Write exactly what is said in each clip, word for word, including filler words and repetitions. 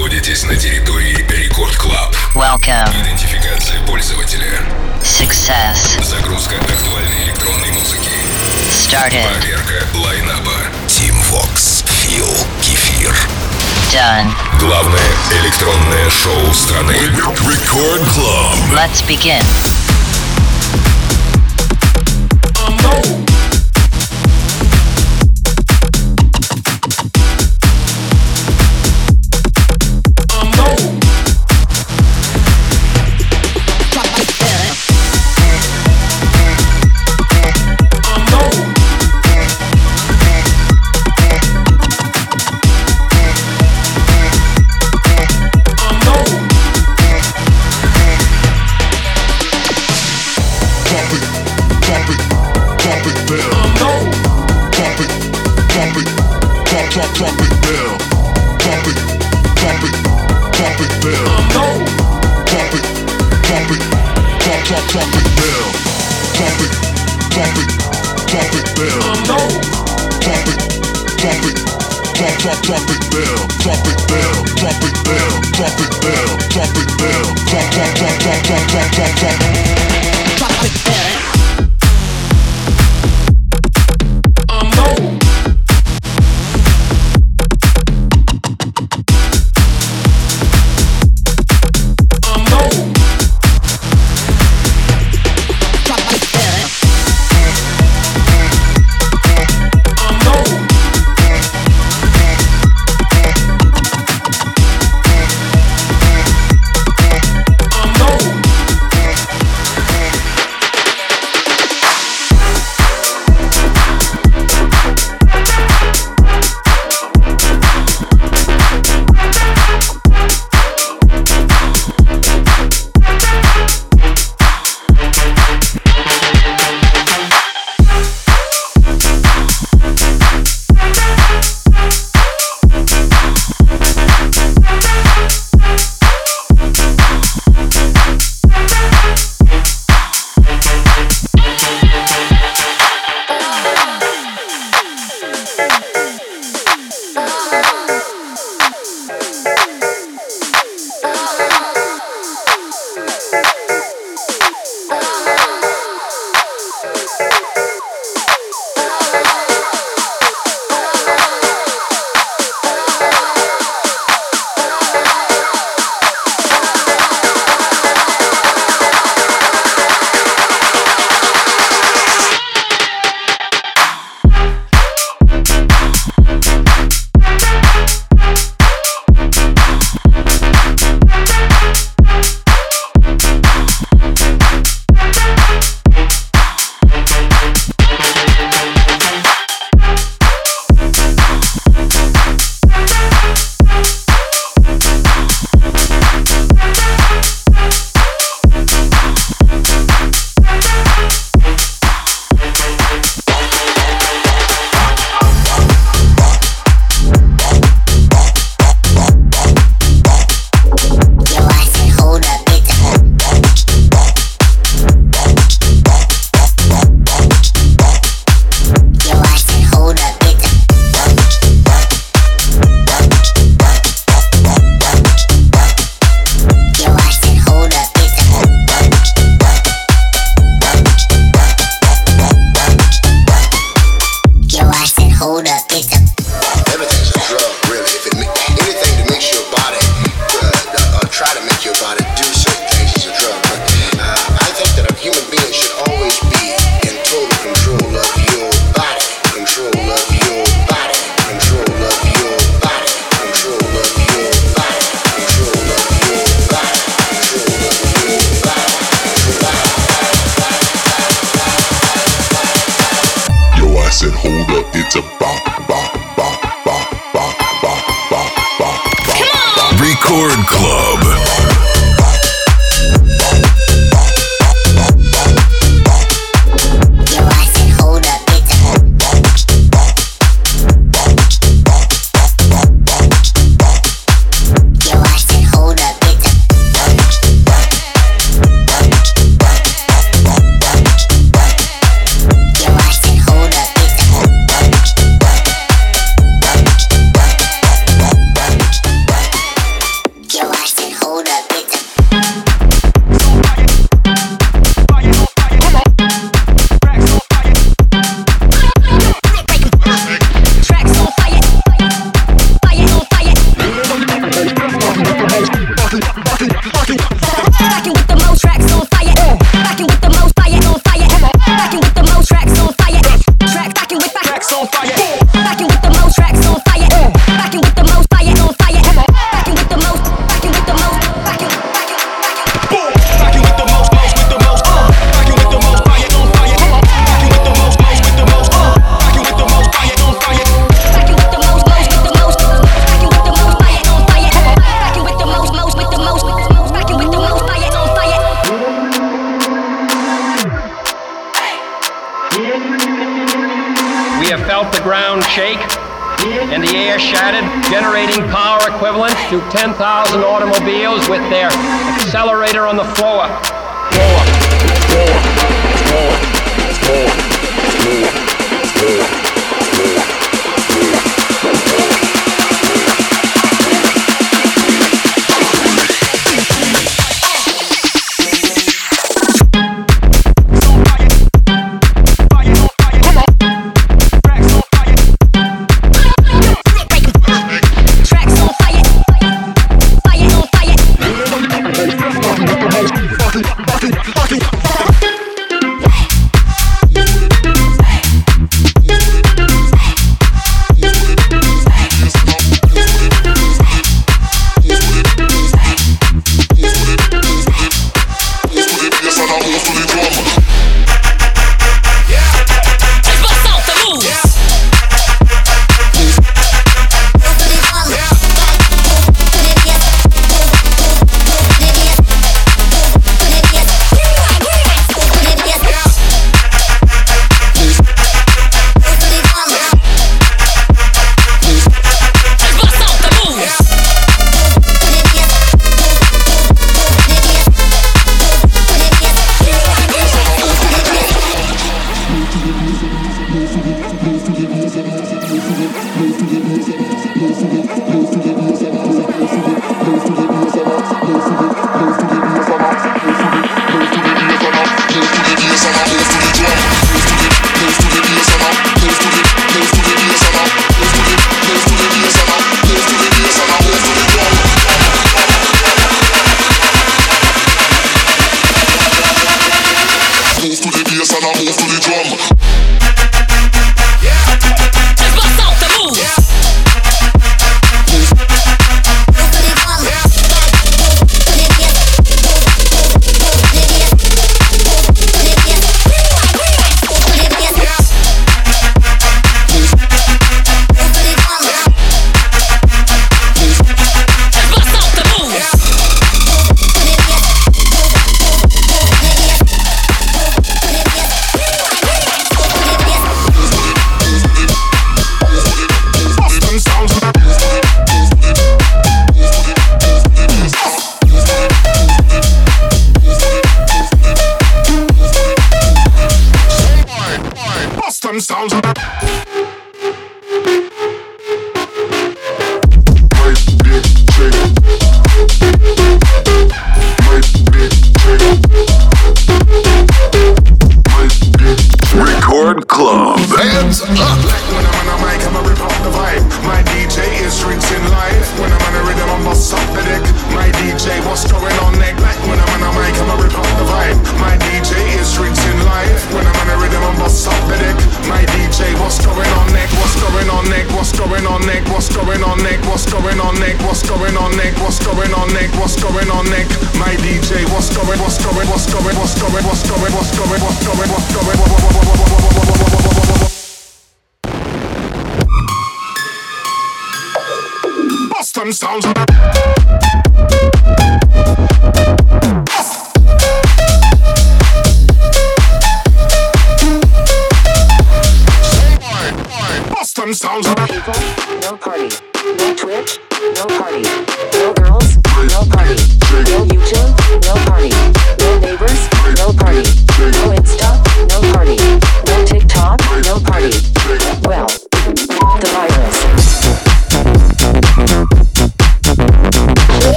находитесь на территории Рекорд Клаб. Welcome. Идентификация пользователя. Success. Загрузка актуальной электронной музыки. Started. Проверка лайнаба. Team Vox. Фил. Кефир. Done. Главное электронное шоу страны. Рекорд Клаб. Let's begin. Record Club. shake, and the air shattered, generating power equivalent to ten thousand automobiles with their accelerator on the floor. Floor, floor, floor, floor, floor, floor, floor.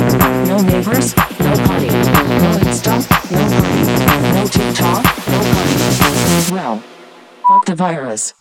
neighbors, no party, no Insta, no party, no TikTok, no party. virus.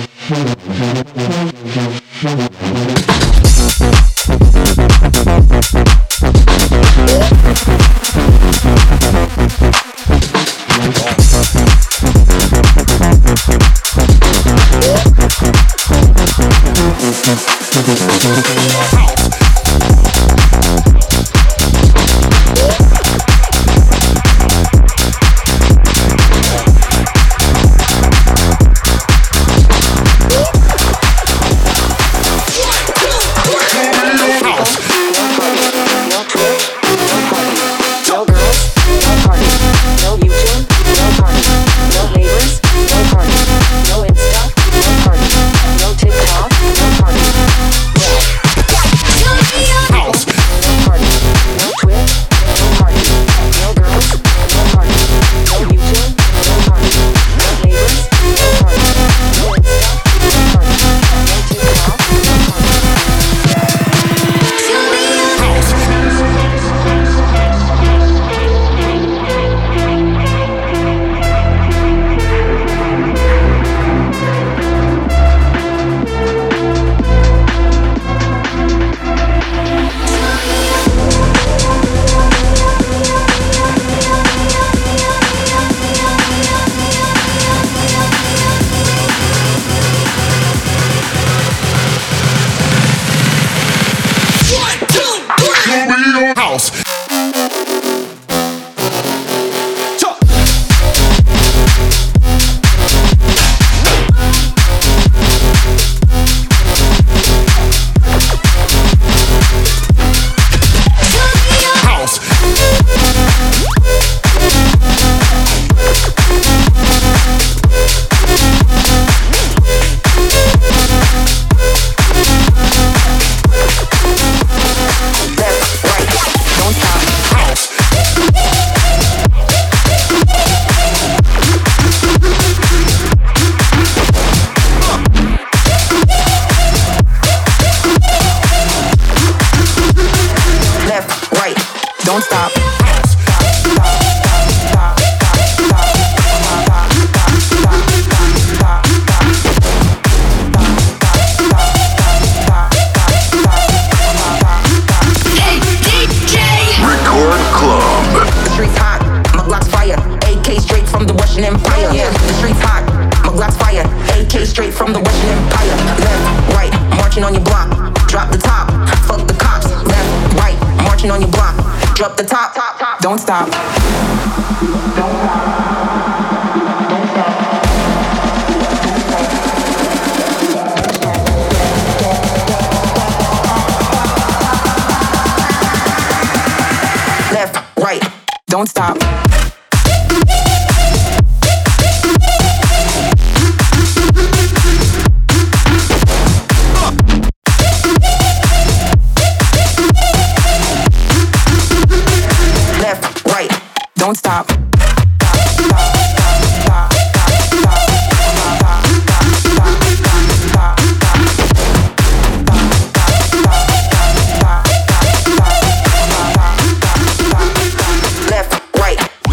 Don't stop. Left, right, don't stop. Don't stop. Left, right,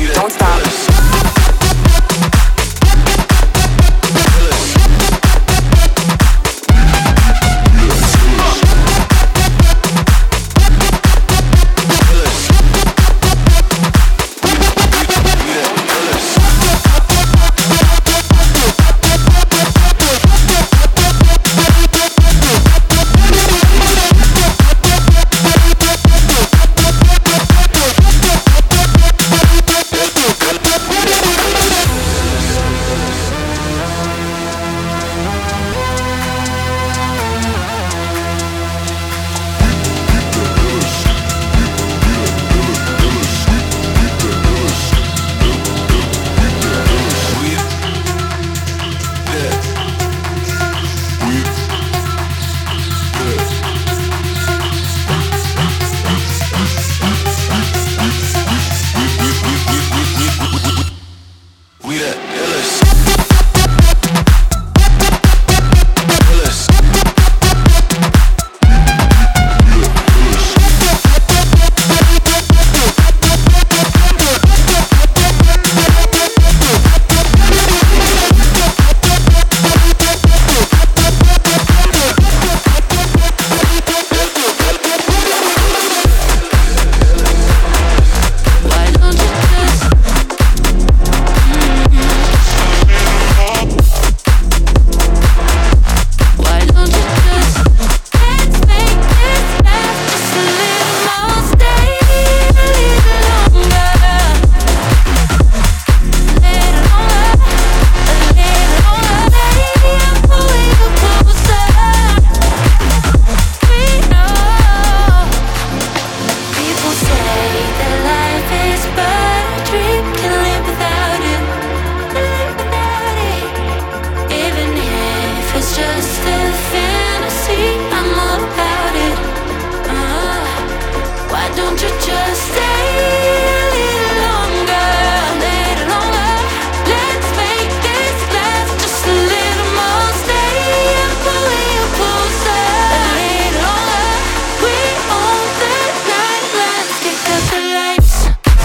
just a fantasy. I'm all about it. Uh, why don't you just stay a little longer, a little longer? Let's make this last just a little more. Stay and pull you closer, a little longer. We own the night. Let's kick out the lights.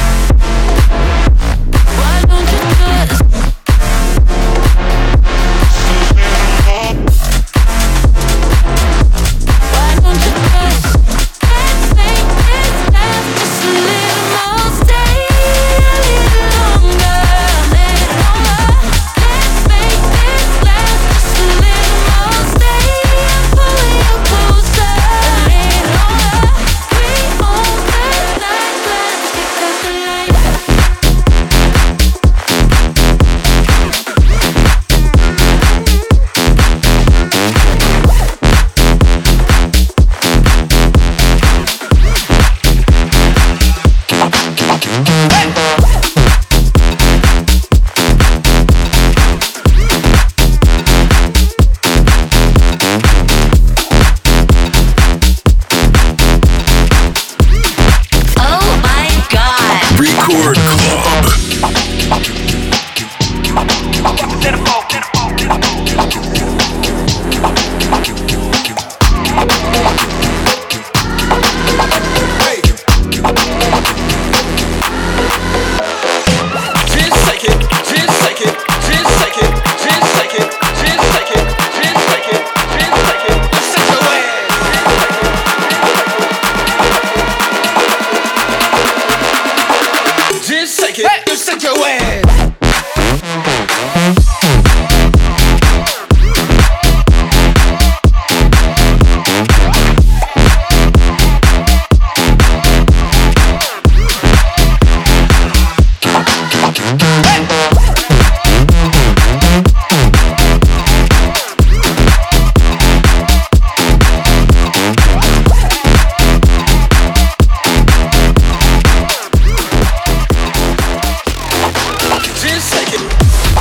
Why don't you just? Why don't you just? Let's make this last just a little more. Stay a little longer, a little longer. Let's make this last just a little more. Stay and pull you closer, a little longer. We own the night. Let's kick out the lights. Oh my god! Record Club. Just shake it, just shake your ass. Just shake it.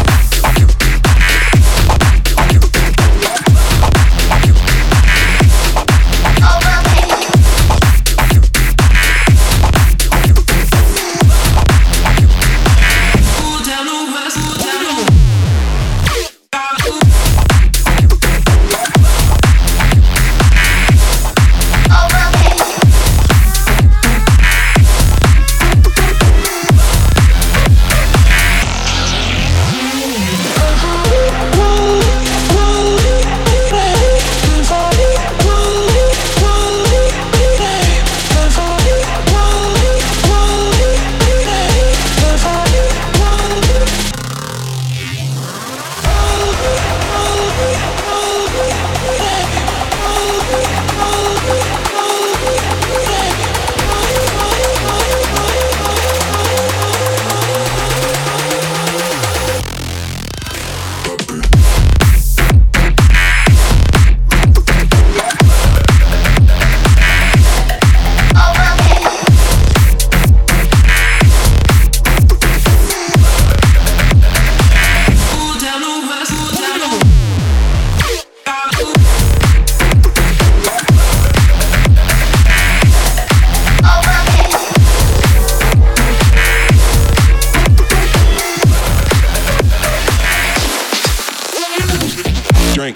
Drink.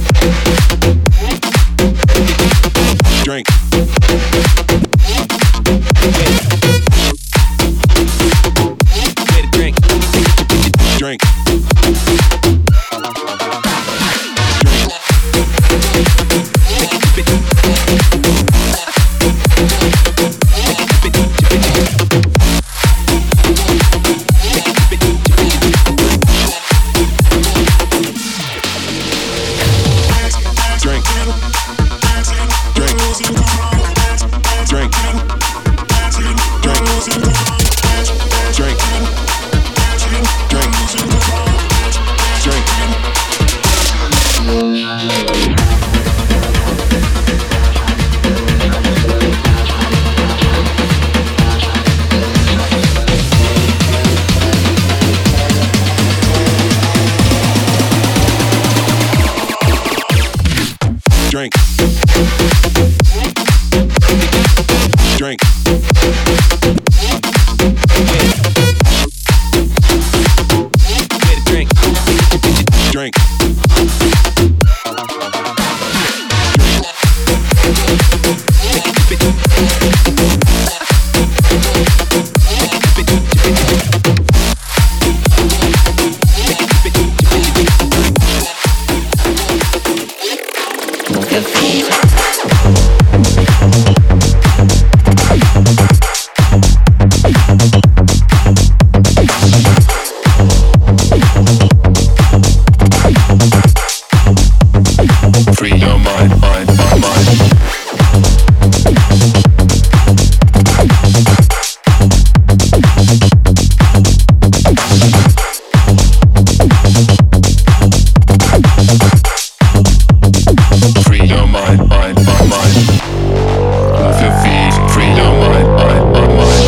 Drink. Get a drink. Drink. Drink. Drink. Drink. Drink. Drink. Get a drink. Drink. Free your mind, mind, mind, mind. Free your mind, mind, mind, mind. Move your feet, free your mind, mind, mind, mind.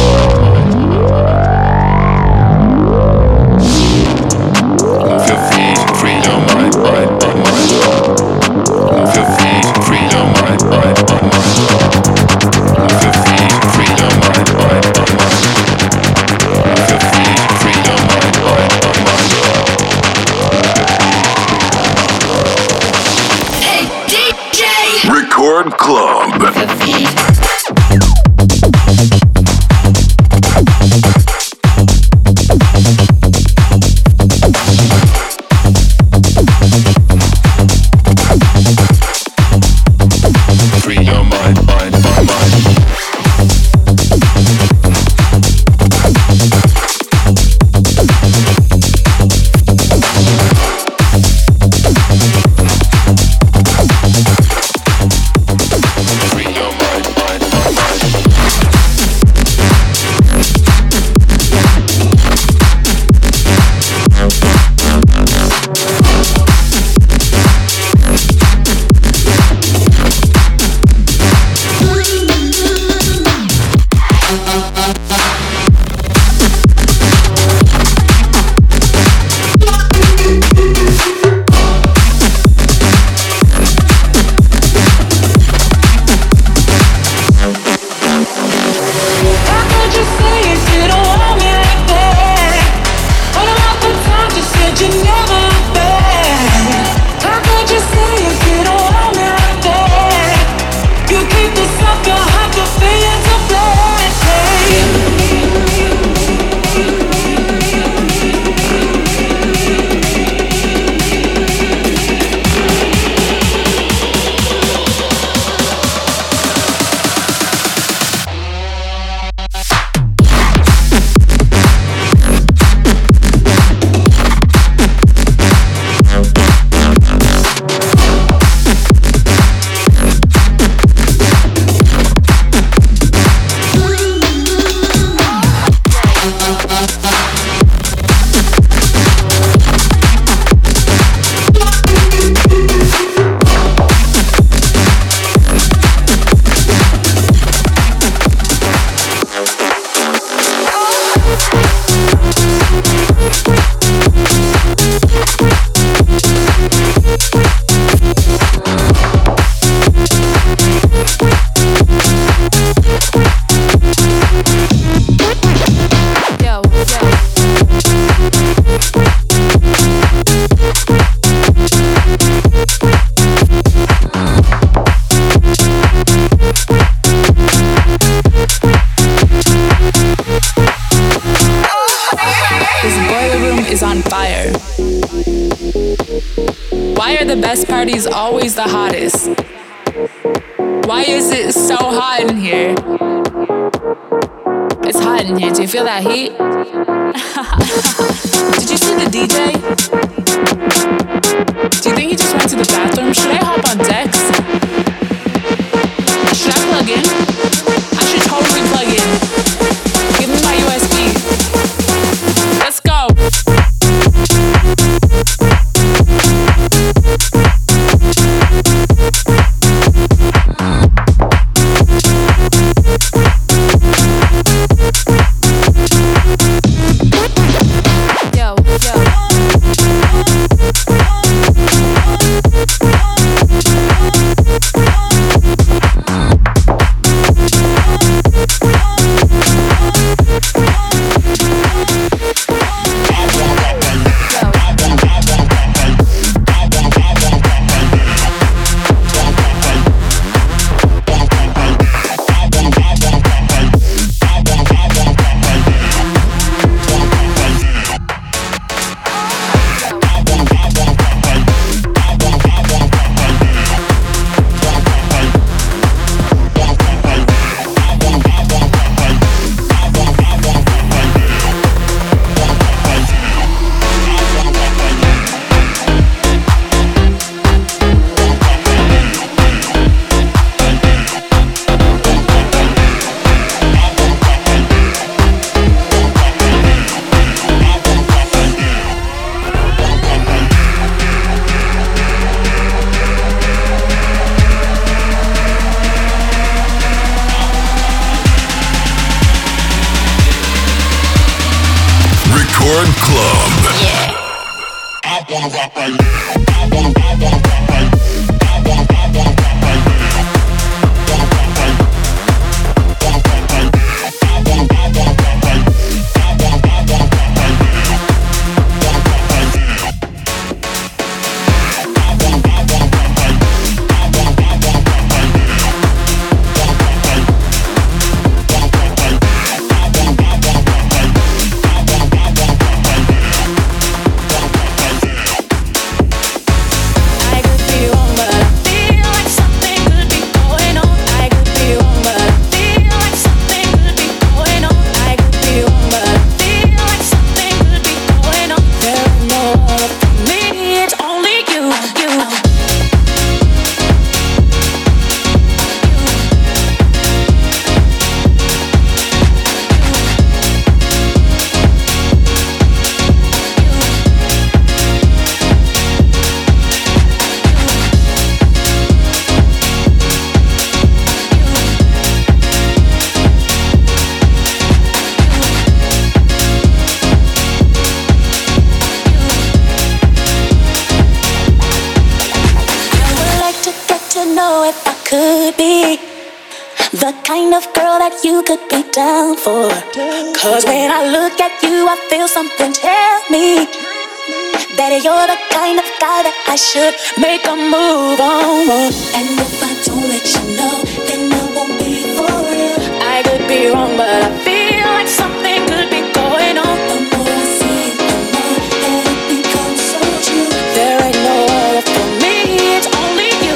Move your feet, free your mind, mind, mind, mind. Move your feet, free your mind, mind, mind, mind. Move your feet, free your mind, mind, mind, mind. Move your feet, free your mind, mind, mind, mind. Hey D J, Record Club. move your feet. Free your mind, mind, mind, mind. Free your mind, mind, mind, mind. How could you say if you don't want me like that? What about the times you said you never look back? How could you say if you don't want me like that? You keep this up, you'll have to feel it to flash. Yo, This boiler room is on fire. Why are the best parties always the hottest? Why is it so hot in here? It's hot in here. Do you feel that heat? Did you see the D J? Do you think he just went to the bathroom? Should I hop on decks? Should I plug in? I should totally plug in. Give me my U S B. Let's go. yo, yo. Club. Yeah. I wanna rock right now. I wanna, I wanna rock right now. I wanna, I wanna rock right now. Wanna rock right now. Wanna rock right now. I wanna, I wanna rock right now. I wanna, I wanna rock right now. Wanna rock right now. I wanna, I wanna rock right now. I wanna, I wanna rock right now. Wanna rock right now. Wanna rock right now. I wanna, I wanna rock right now. I wanna, I wanna rock right now. I could be wrong, but I feel like something could be going on. I could be wrong, but I feel like something could be going on. I could be wrong, but I feel like something could be going on. There ain't no other for me, it's only you, you. Know if I could be the kind of girl that you could be down for. Cause when I look at you, I feel something tell me that you're the kind of guy that I should make a move on. And if I don't let you know, then I won't be for real. I could be wrong, but I feel like something could be going on. The more I see it, the more that it becomes so true. There ain't no other for me, it's only you.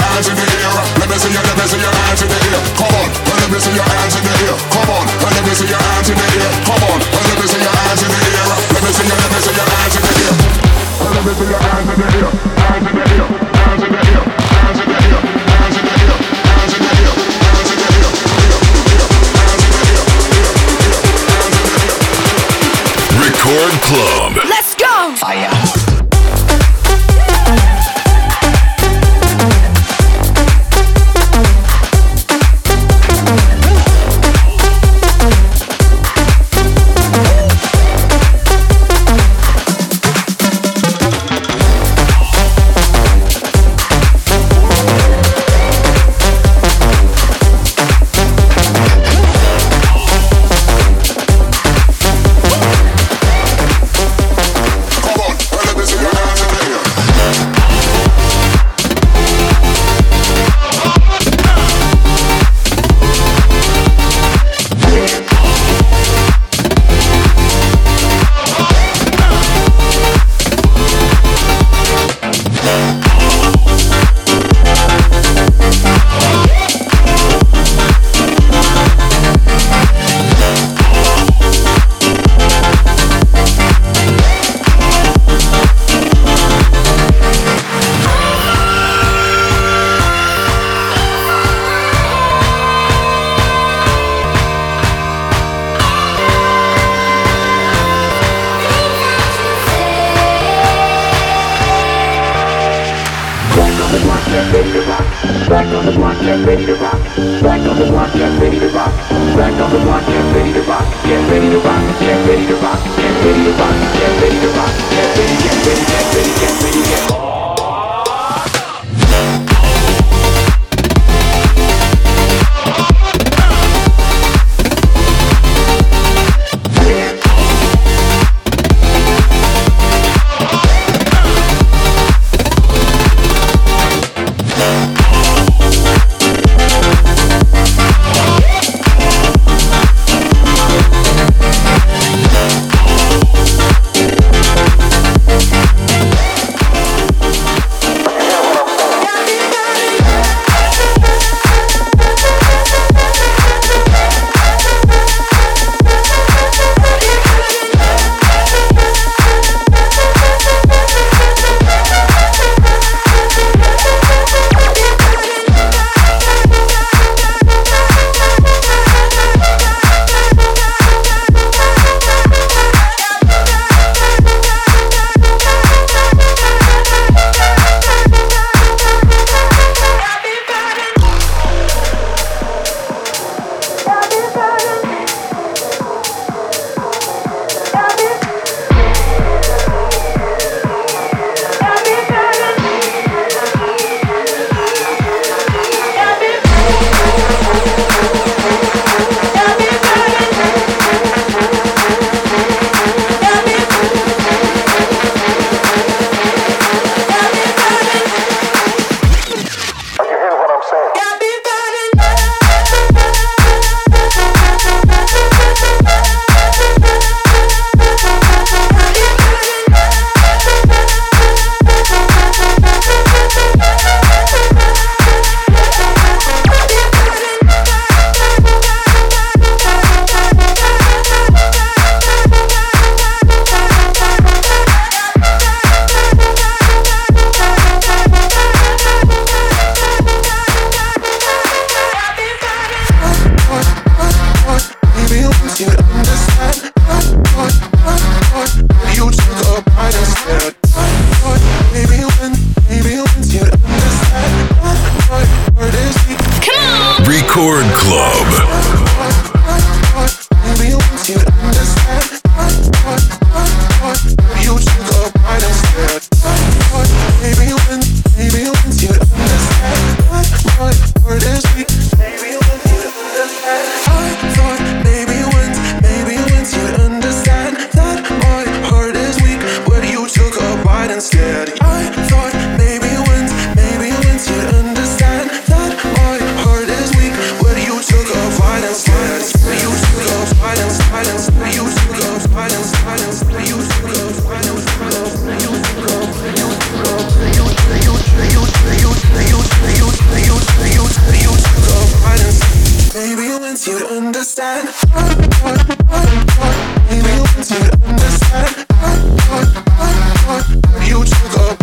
see your hands in the air. Come on, let me see your hands in the air. Come on, let me see your Record Club. Let's go! Fire. Record Club. Maybe once you'd understand. Maybe once you'd understand. You took a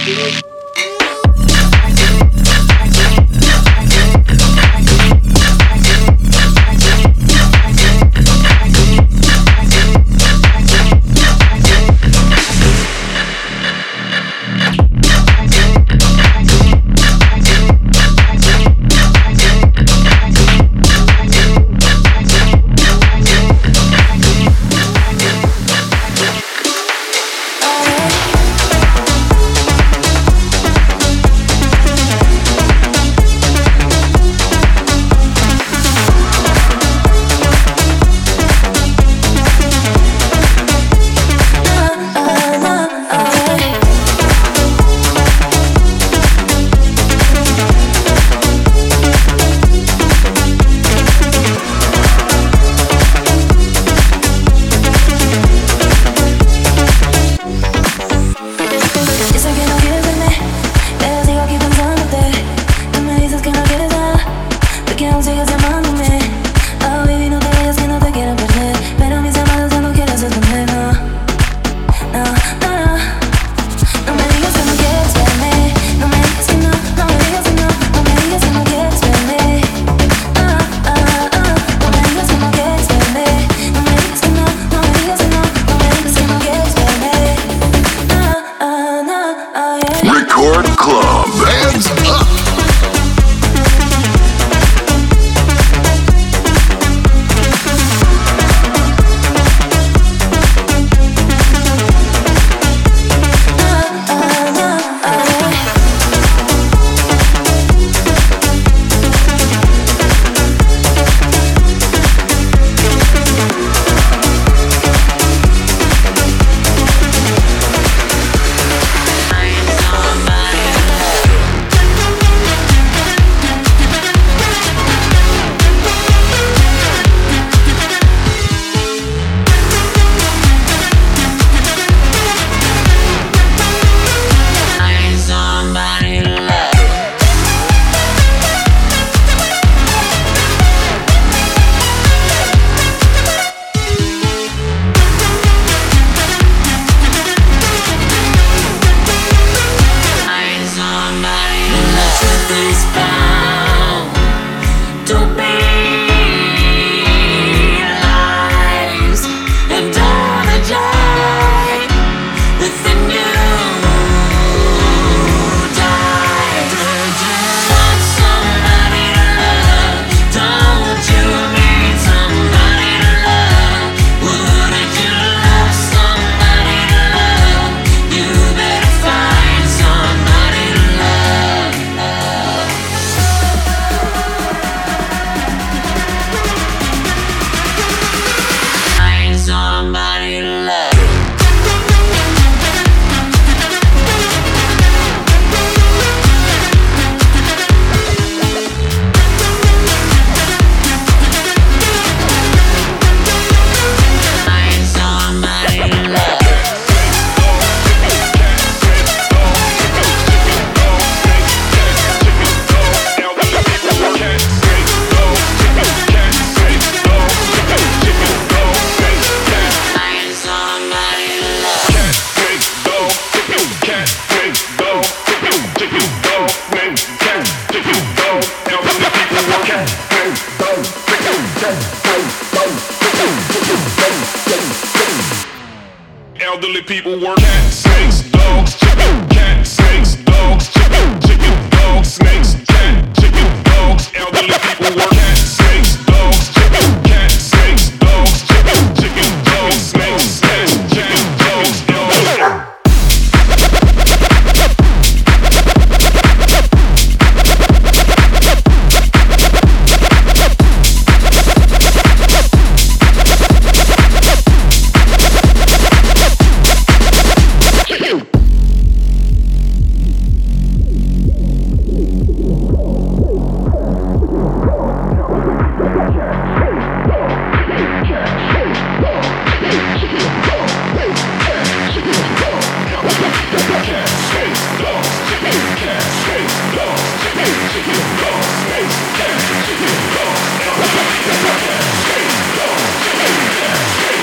Elderly people work cat, snakes, dogs, chicken, cat, snakes, dogs, chicken, chicken, dogs, snakes, cat, chicken, dogs. Elderly people work cat, snakes, dogs, chicken, cat, snakes, dogs, chicken, chicken, dogs, snakes, cat, chicken, dogs. Elderly.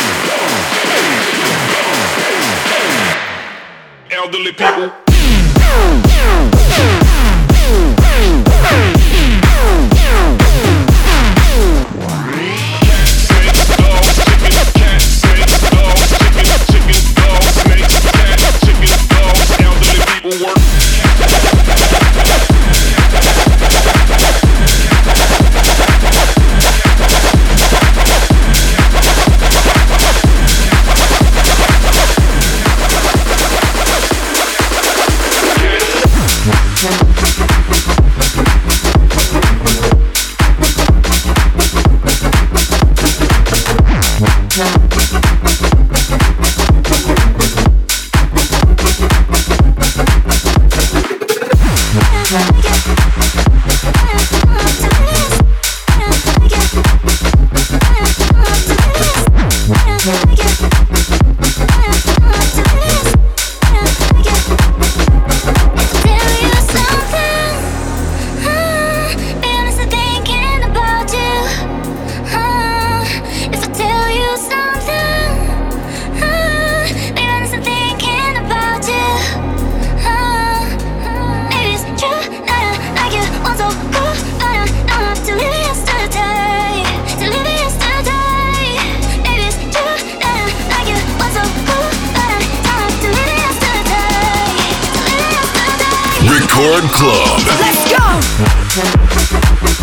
Elderly people. Record Club. Let's go!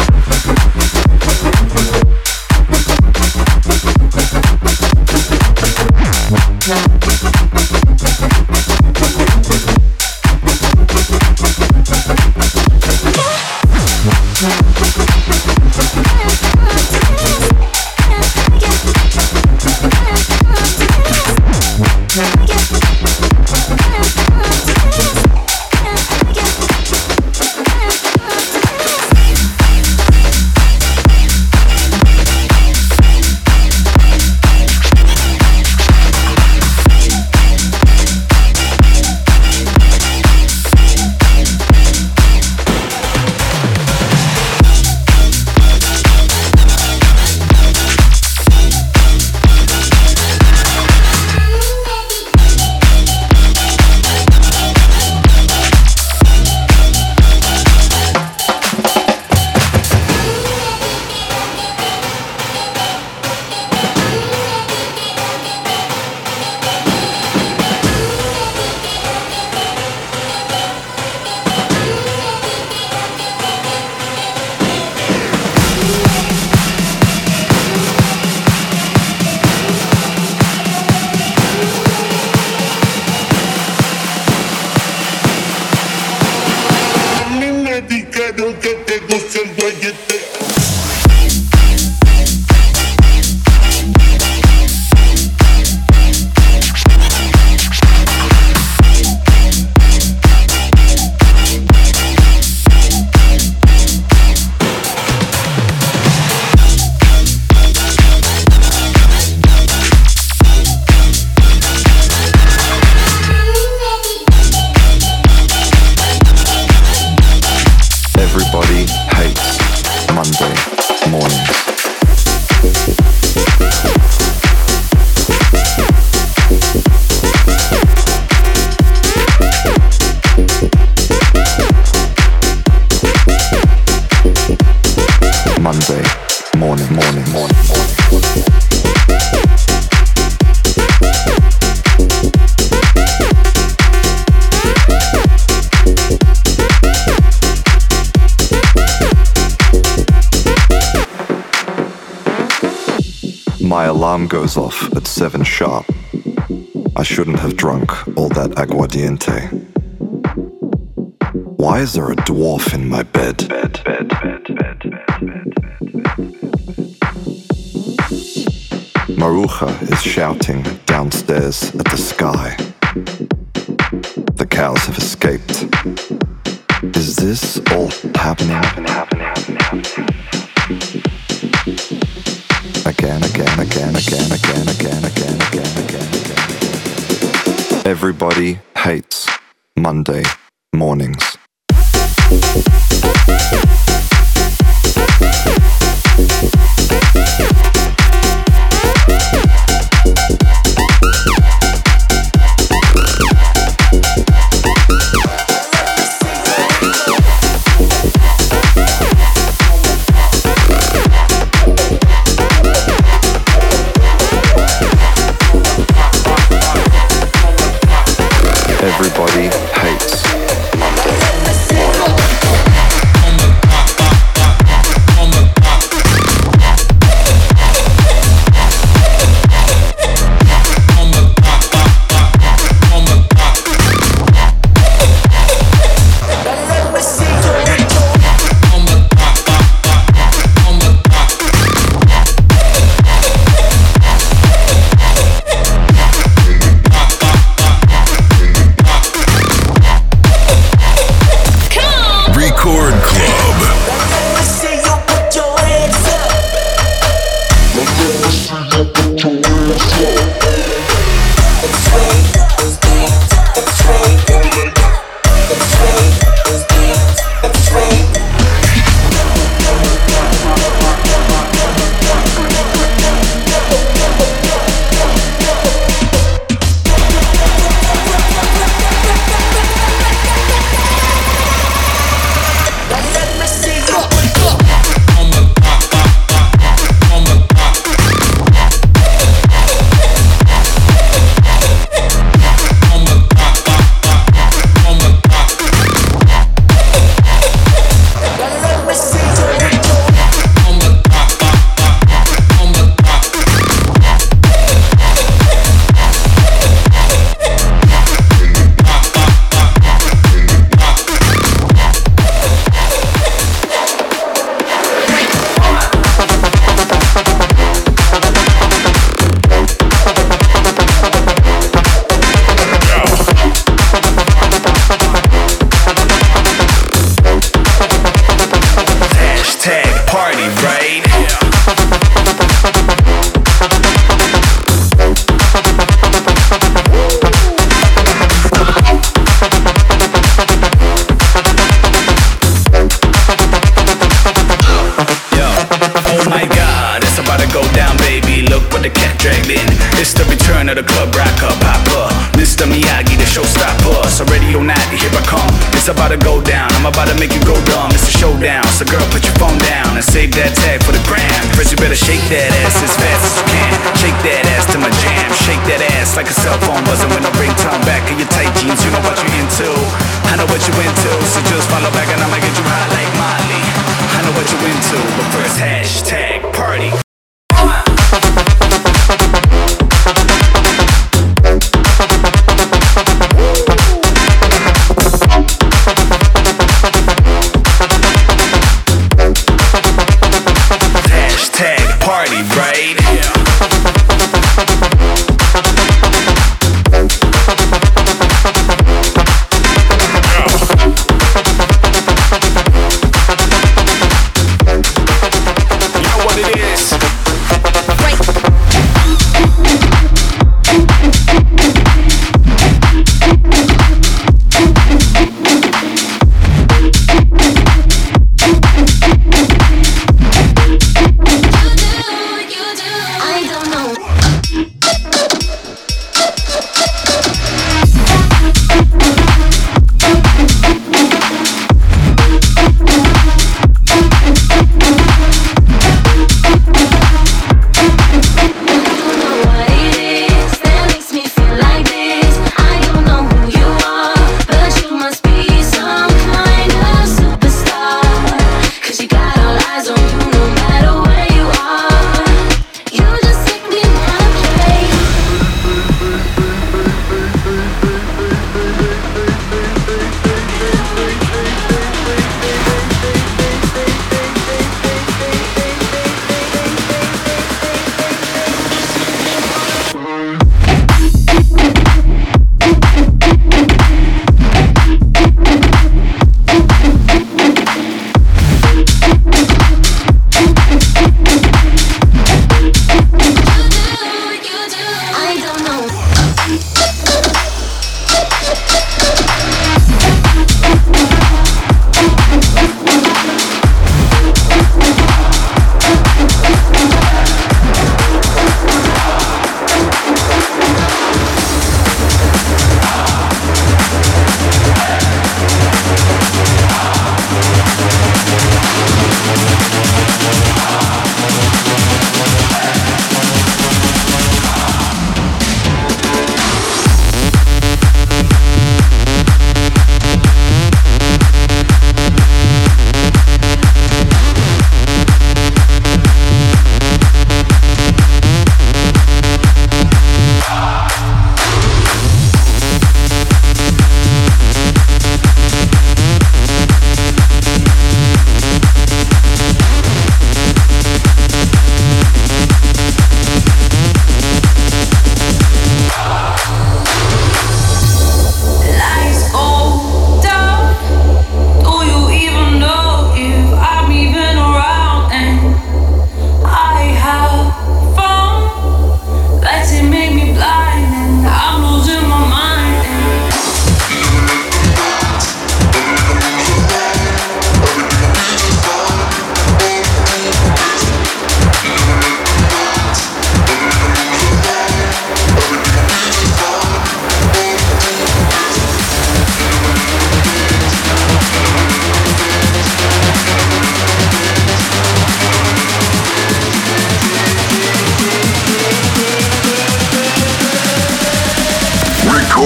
My alarm goes off at seven sharp. I shouldn't have drunk all that aguardiente. Why is there a dwarf in my bed? Bed, bed, bed, bed, bed, bed, bed. Maruja is shouting downstairs at the sky. The cows have escaped. Is this all happening? Happening, happening, happening, happening. Again, again, again, again, again, again, again, again, again, again. Everybody hates Monday mornings. Everybody hates Monday.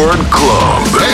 Record Club.